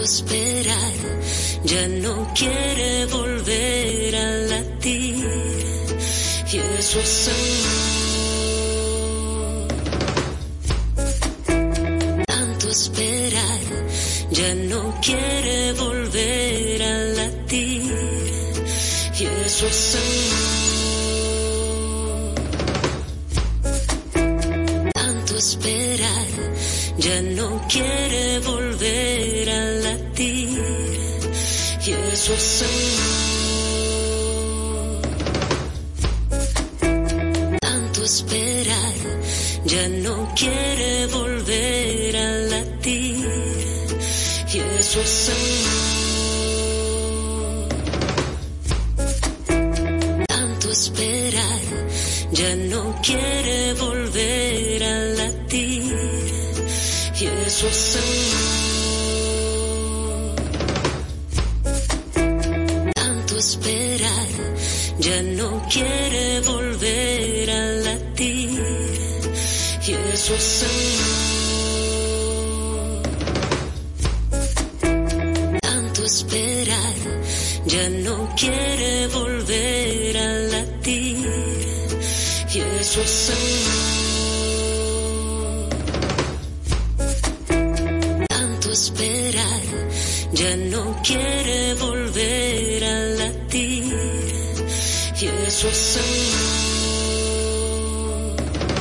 esperar, ya no quiere volver a latir, y eso es amor. Tanto esperar, ya no quiere volver a latir, y eso es amor. Tanto esperar, ya no quiere volver a latir, y eso es amor. Tanto esperar, ya no quiere volver a latir, y eso es amor. Tanto esperar, ya no quiere volver a latir, y eso es amor. Tanto esperar, ya no quiere volver a latir, y eso es amor. Tanto esperar, ya no quiere volver a latir, y eso es amor. Tanto esperar, ya no quiere volver a latir, y eso es amor.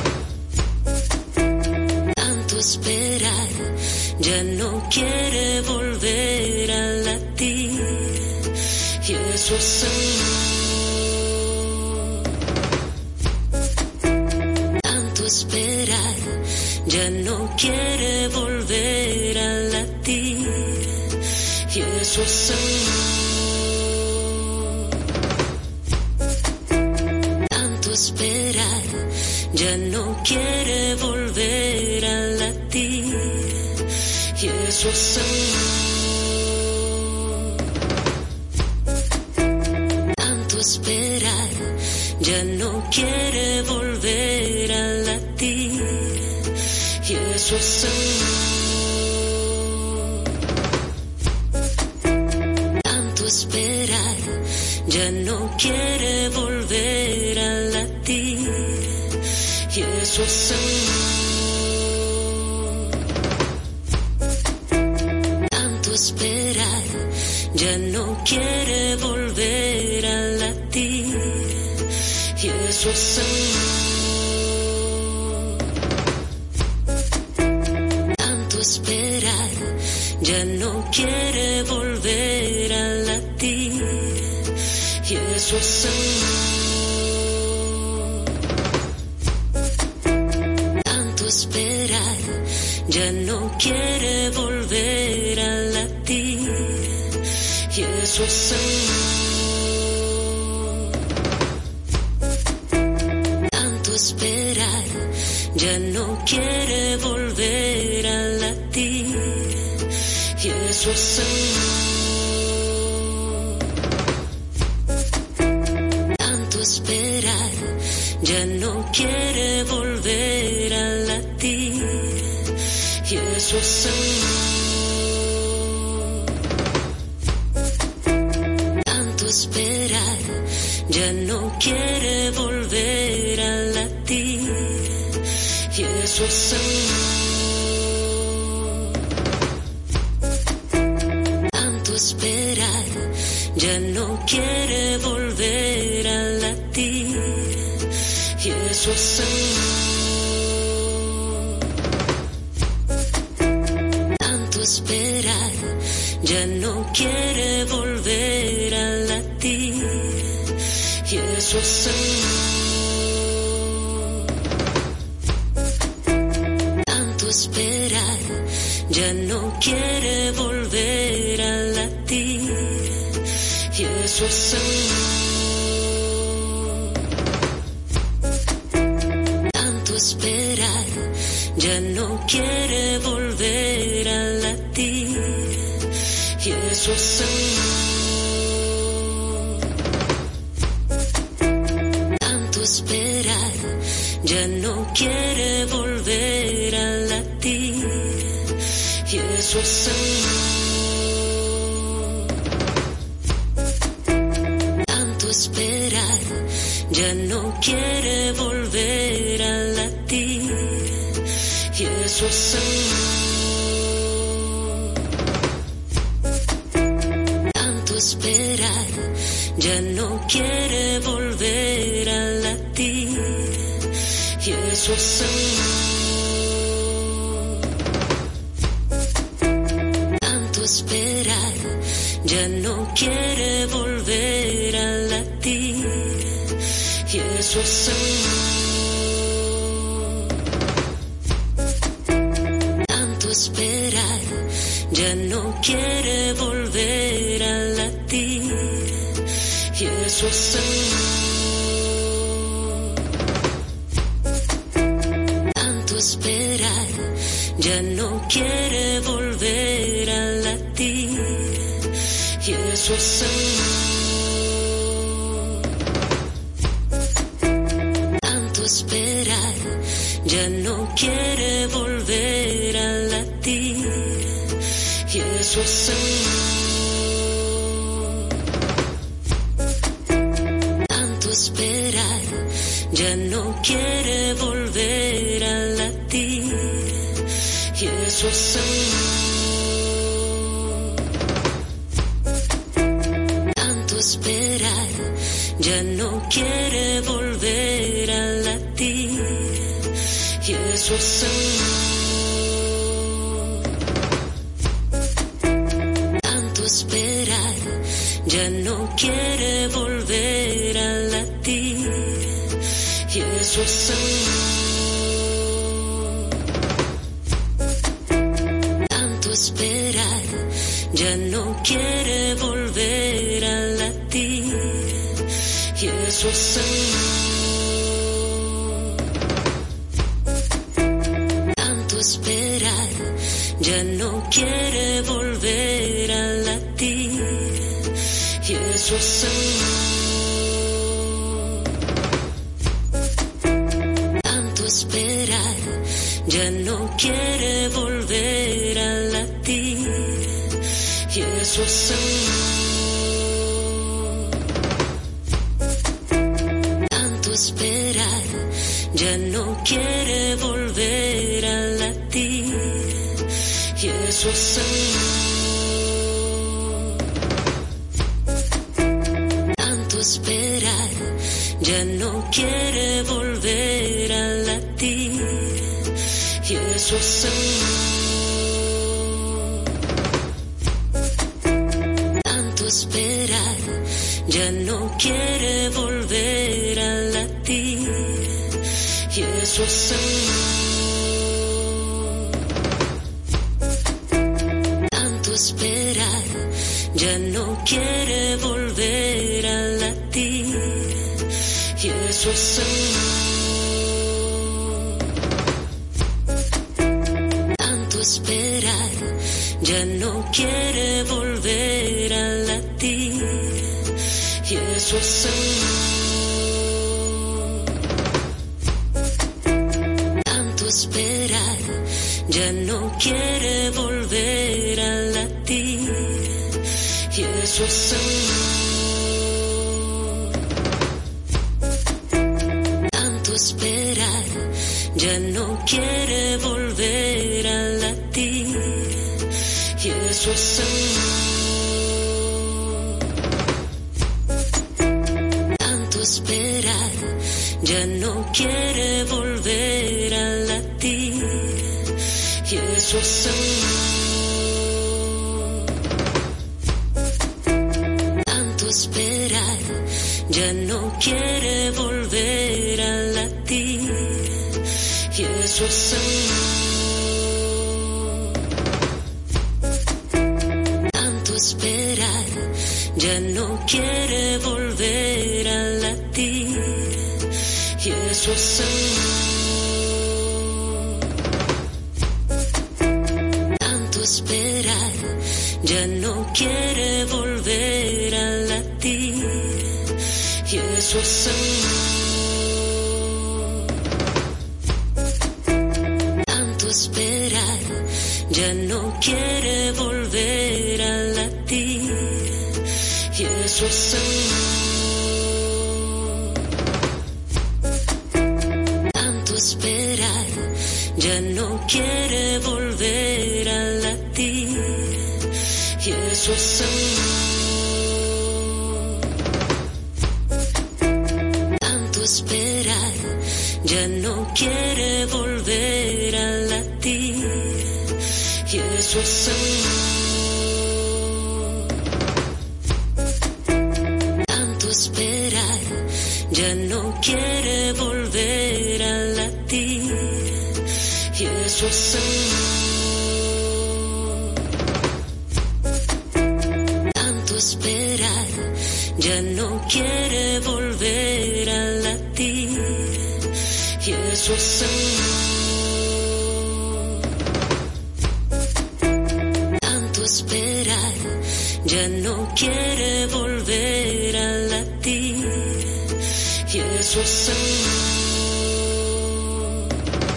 Tanto esperar, ya no quiere volver a latir, y eso es amor. Tanto esperar, ya no quiere volver a latir, y eso es amor. Tanto esperar, ya no quiere volver a latir, y eso es amor. Tanto esperar, ya no quiere volver a latir, y eso es amor. Tanto esperar, ya no quiere volver a latir, y eso es amor. Tanto esperar, ya no quiere volver a latir, y eso es amor. Tanto esperar, ya no quiere volver a latir, y eso es amor. Tanto esperar, ya no quiere volver a latir, y eso es amor. Tanto esperar, ya no quiere volver a latir, y eso es amor. Tanto esperar, ya no quiere volver a latir, y eso es amor. Tanto esperar, ya no quiere volver a latir, y eso es amor. Tanto esperar, ya no quiere volver a latir, y eso es amor. Tanto esperar, ya no quiere volver a latir, y eso es amor. Tanto esperar, ya no quiere volver a latir, y eso es amor. Tanto esperar, ya no quiere volver a latir, y eso es amor. Tanto esperar, ya no quiere volver a latir, y eso es amor. ya no quiere volver a latir, y eso es amor. Tanto esperar, ya no quiere volver a latir, y eso es amor. Tanto esperar, ya no quiere volver a latir, y eso es amor. Tanto esperar, ya no quiere volver a latir, y eso es amor. Tanto esperar, ya no quiere volver a latir, y eso es amor. Tanto esperar, ya no quiere volver a latir, y eso es amor. Tanto esperar, ya no quiere volver a latir, y eso es amor. Tanto esperar, ya no quiere volver a latir, y eso es amor. Tanto esperar, ya no quiere volver a latir, y eso es amor. Tanto esperar, ya no quiere volver a latir, y eso es amor. Tanto esperar, ya no be volver a latir, y eso es amor. Tanto esperar, ya no quiere volver a latir, y eso es amor. Tanto esperar, ya no quiere volver a latir, y eso es amor. Tanto esperar, ya no quiere volver a latir, y eso es amor. Tanto esperar, ya no quiere volver a latir, y eso es amor. Tanto esperar, ya no quiere volver a latir, y eso es amor. Tanto esperar, ya no quiere volver a latir, y eso es amor. Tanto esperar, ya no quiere volver a latir, y eso es amor. Tanto esperar, ya no quiere volver a latir, y eso es amor. Tanto esperar, ya no quiere volver a latir, y eso es amor. Tanto esperar, ya no quiere volver a latir, y eso es amor. Tanto esperar, ya no quiere volver a latir, y eso es amor. Tanto esperar, ya no quiere volver a latir, y eso es amor. Tanto esperar, ya no quiere volver a latir, y eso es amor. ya no quiere volver a latir, y eso es amor. Tanto esperar, ya no quiere volver a latir, y eso es amor. Tanto esperar, ya no quiere volver a latir, y eso es amor. Tanto esperar, ya no gue volver a latir, y eso es amor. Tanto esperar, ya no quiere volver a latir, y eso es amor.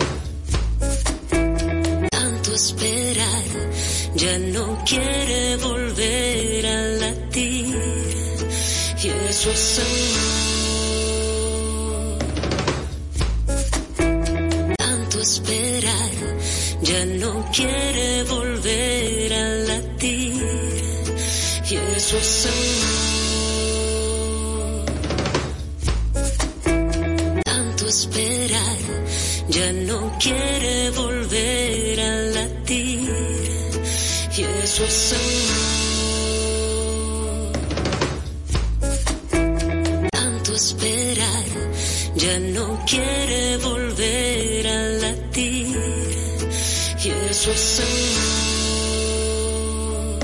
Tanto esperar, ya no quiere volver a latir, y eso es amor. Tanto esperar, ya no quiere volver a latir, y eso es amor. Tanto esperar, ya no quiere volver a latir, y eso es amor. Tanto esperar, ya no quiere volver a latir, y eso es amor.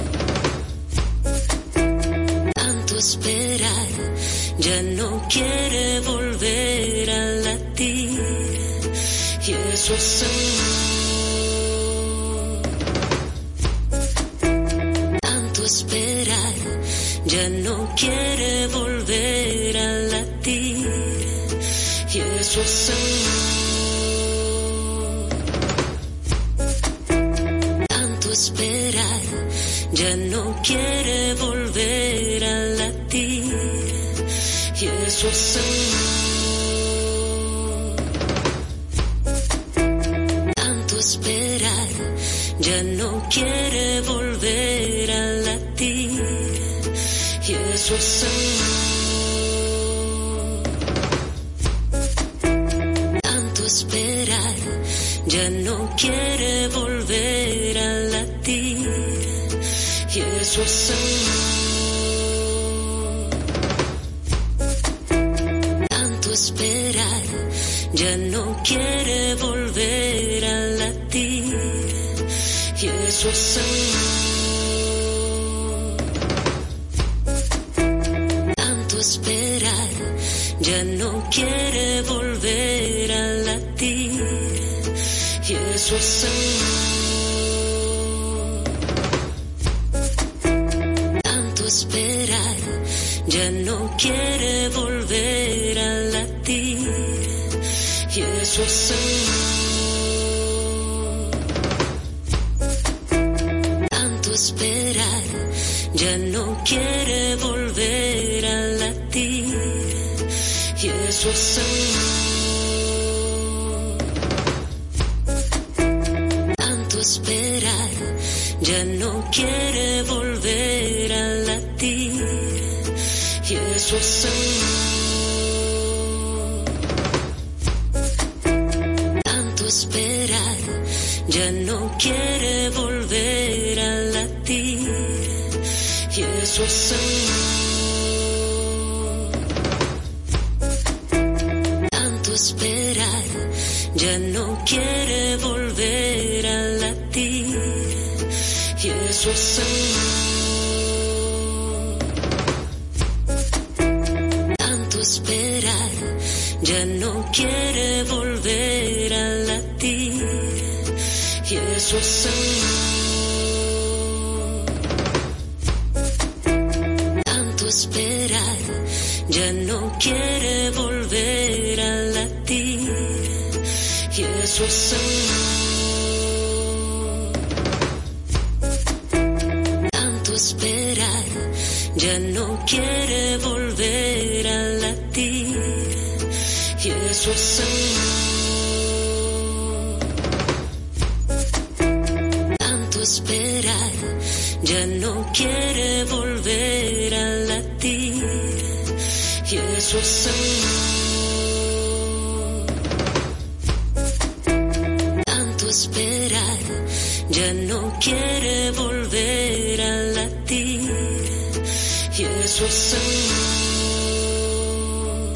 Tanto esperar, ya no quiere volver a latir, y eso es amor. Tanto esperar, ya no quiere volver a latir, y eso es amor. Tanto esperar, ya no quiere volver a latir, y eso es amor. Tanto esperar, ya no gue volver a latir, y eso es amor. Tanto esperar, ya no quiere volver a latir, y eso es amor. Tanto esperar, ya no quiere volver a latir, y eso es amor. Tanto esperar, ya no quiere volver a latir, y eso es amor. Tanto esperar, ya no quiere volver a latir, y eso es amor. Tanto esperar, ya no quiere volver a latir, y eso es amor. Tanto esperar, ya no quiere volver a latir, y eso es amor. Tanto esperar, ya no quiere volver a latir, y eso es amor. Tanto esperar, ya no quiere volver a latir, y eso es amor. Tanto esperar, ya no quiere volver a latir, y eso es amor. Tanto esperar, ya no quiere volver a latir, y eso es amor. Tanto esperar, ya no quiere volver a latir, y eso es amor. ya no quiere volver a latir, y eso es amor. Tanto esperar, ya no quiere volver a latir, y eso es amor.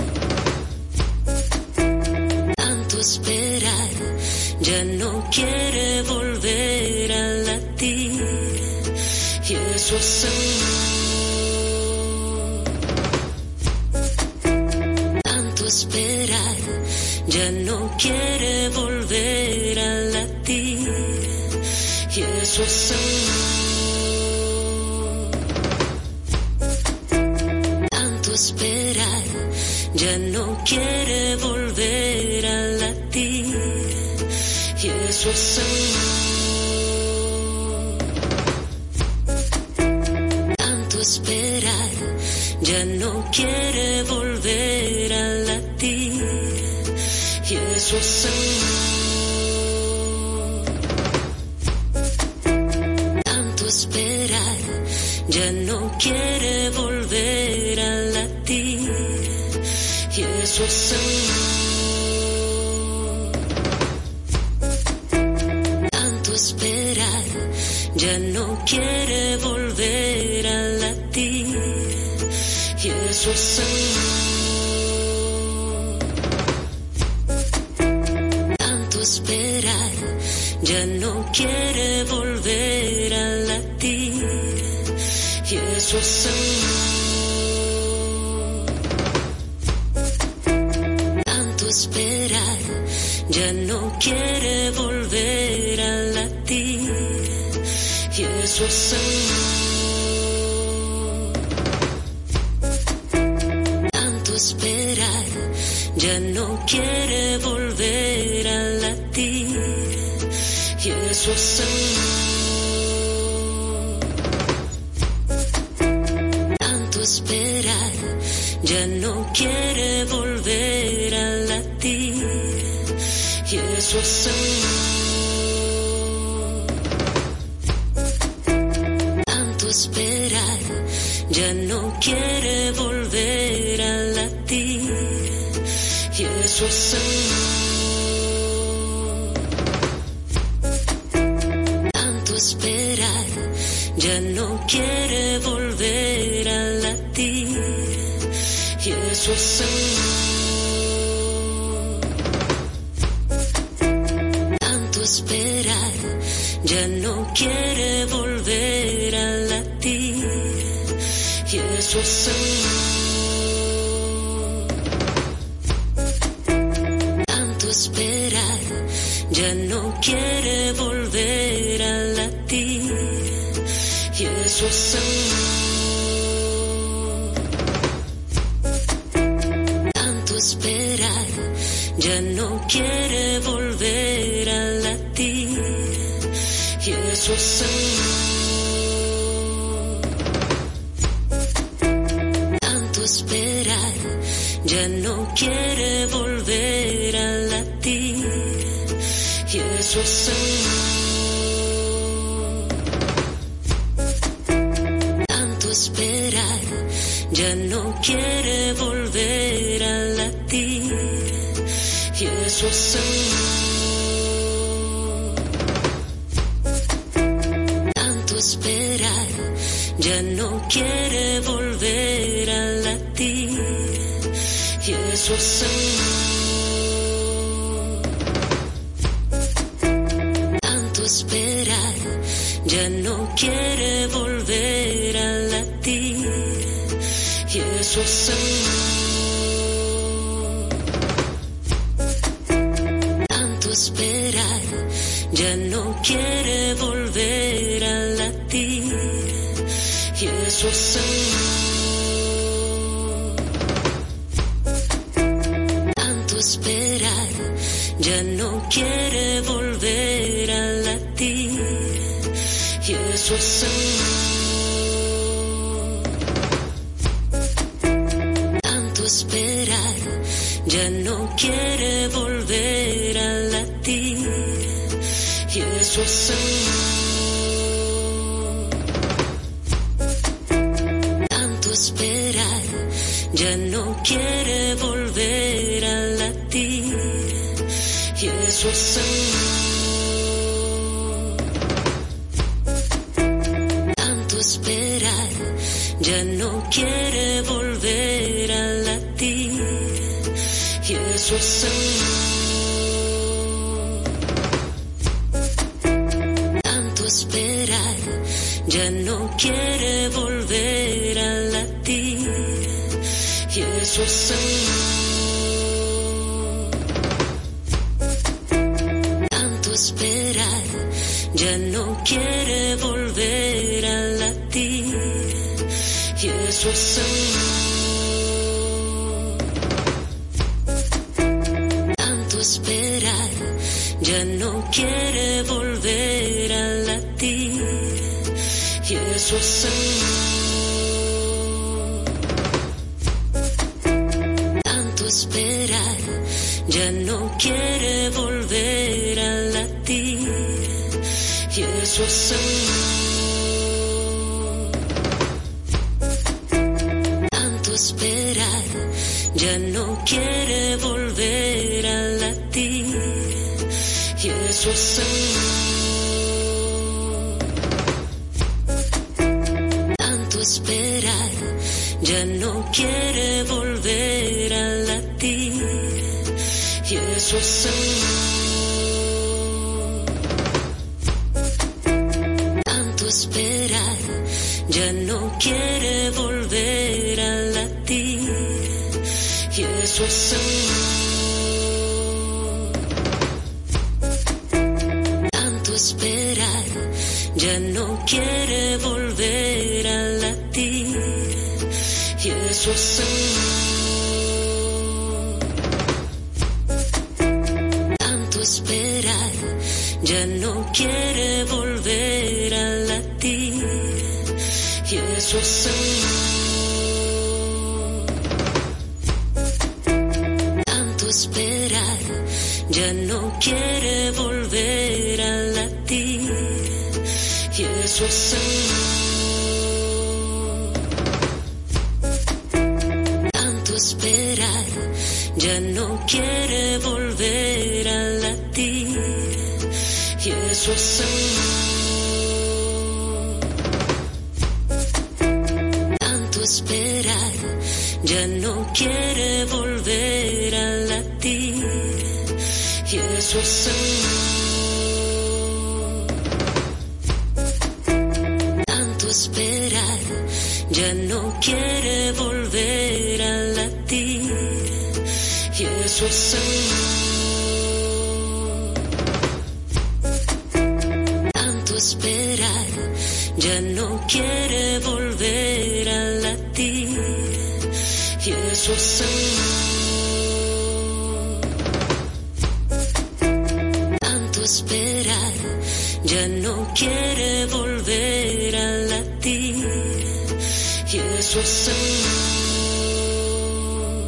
Tanto esperar, ya no quiere volver a latir, y eso es amor. Tanto esperar, ya no quiere volver a latir, y eso es amor. Tanto esperar, ya no quiere volver a latir, y eso es amor. Tanto esperar, ya no quiere volver a latir, y eso es amor. Tanto esperar, ya no quiere volver a latir, y eso es amor. Tanto esperar, ya no quiere volver a latir, y eso es amor. Tanto esperar, ya no quiere volver a latir, y eso es amor. Tanto esperar, ya no quiere volver a latir, y eso es amor. Tanto esperar, ya no quiere volver a latir, y eso es amor. Tanto esperar, ya no quiere volver a latir, y eso es amor. Tanto esperar, ya no quiere volver a latir, y eso es amor. Tanto esperar, ya no quiere volver a latir, y eso es amor. Tanto esperar, ya no quiere volver a latir, y eso es amor. Tanto esperar, ya no quiere volver a latir, y eso es amor. Tanto esperar, ya no quiere volver a latir, y eso es amor. Tanto esperar, ya no quiere volver a latir, y eso es amor. Tanto esperar, ya no quiere volver a latir, y eso es amor. Tanto esperar, ya no quiere volver a latir, y eso es amor. Tanto esperar, ya no quiere volver a latir, y eso es amor. Tanto esperar, ya no quiere volver a latir, y eso es amor. Tanto esperar, ya no quiere volver a latir, y eso es amor. Tanto esperar, ya no quiere volver a latir, y eso es amor. ya no quiere volver a latir, y eso es amor. Tanto esperar, ya no quiere volver a latir, y eso es amor. Tanto esperar, ya no quiere volver a latir, y eso es amor. Tanto esperar, ya no quiere volver a latir, y eso es amor. Tanto esperar, ya no quiere volver a latir, y eso es amor. Tanto esperar, ya no quiere volver a latir, y eso es amor. Tanto esperar, ya no quiere volver a latir, y eso es amor. Tanto esperar, ya no quiere volver a latir, y eso es amor. Tanto esperar, ya no quiere volver a latir, y eso es amor. Tanto esperar, ya no quiere volver a latir, y eso es amor. Tanto esperar, ya no quiere volver a latir, y eso es amor. Tanto esperar, ya no quiere volver a latir, y eso es amor. Tanto esperar, ya no quiere volver a latir, y eso es amor. Tanto esperar, ya no quiere volver a latir, y eso es amor. Tanto esperar, ya no quiere volver a latir, y eso es amor. Tanto esperar, ya no quiere volver a latir, y eso es amor. Tanto esperar, ya no quiere volver a latir, y eso es amor.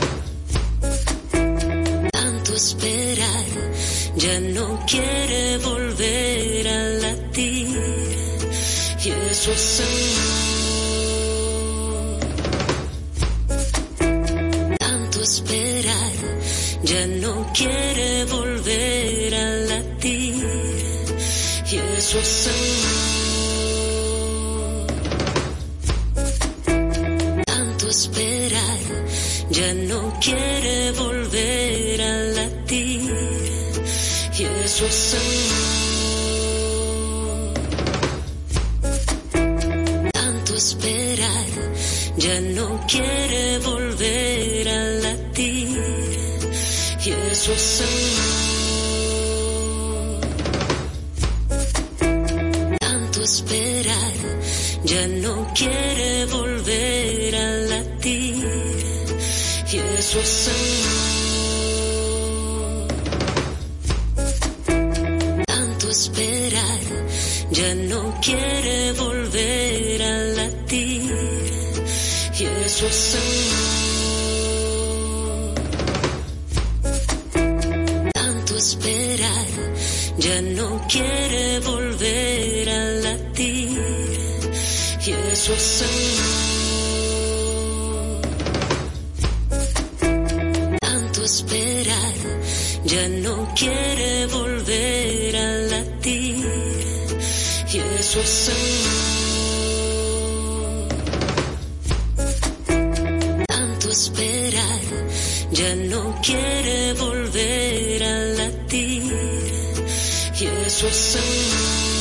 Tanto esperar, ya no quiere volver a latir, y eso es amor. Tanto esperar, ya no quiere volver a latir, y eso es amor. Tanto esperar, ya no quiere volver a latir, y eso es amor. Tanto esperar, ya no quiere volver a latir, y eso es amor. Tanto esperar, ya no quiere volver a latir, y eso es amor. Tanto esperar, ya no quiere volver a latir, y eso es amor. Tanto esperar, ya no quiere volver a latir, y eso es amor. esperar, ya no quiere volver a latir, y eso es amor. Tanto esperar, ya no quiere volver a latir, y eso es amor.